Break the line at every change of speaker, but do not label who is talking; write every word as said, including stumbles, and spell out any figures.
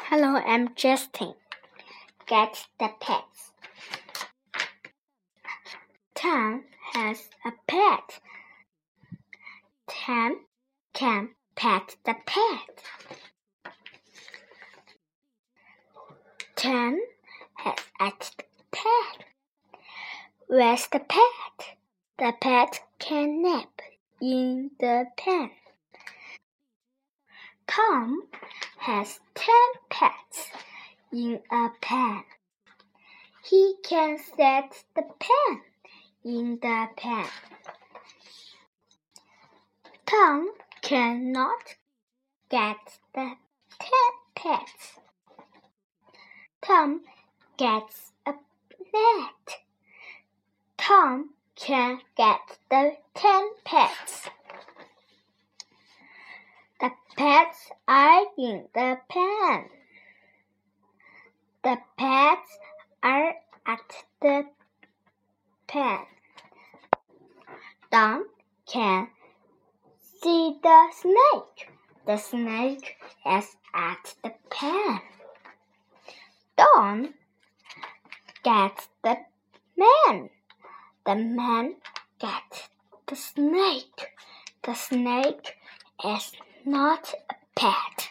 Hello, I'm Justin. Get the pets. Tom has a pet. Tom can pet the pet. Tom has a pet. Where's the pet? The pet can nap in the pen. Tom has ten pets in a pen. He can set the pen in the pen. Tom cannot get the ten pets. Tom gets a net. Tom can get the ten pets. The pets are in the pen. The pets are at the pen. Tom can see the snake. The snake is at the pen. Don gets the man. The man gets the snake. The snake is not a pet.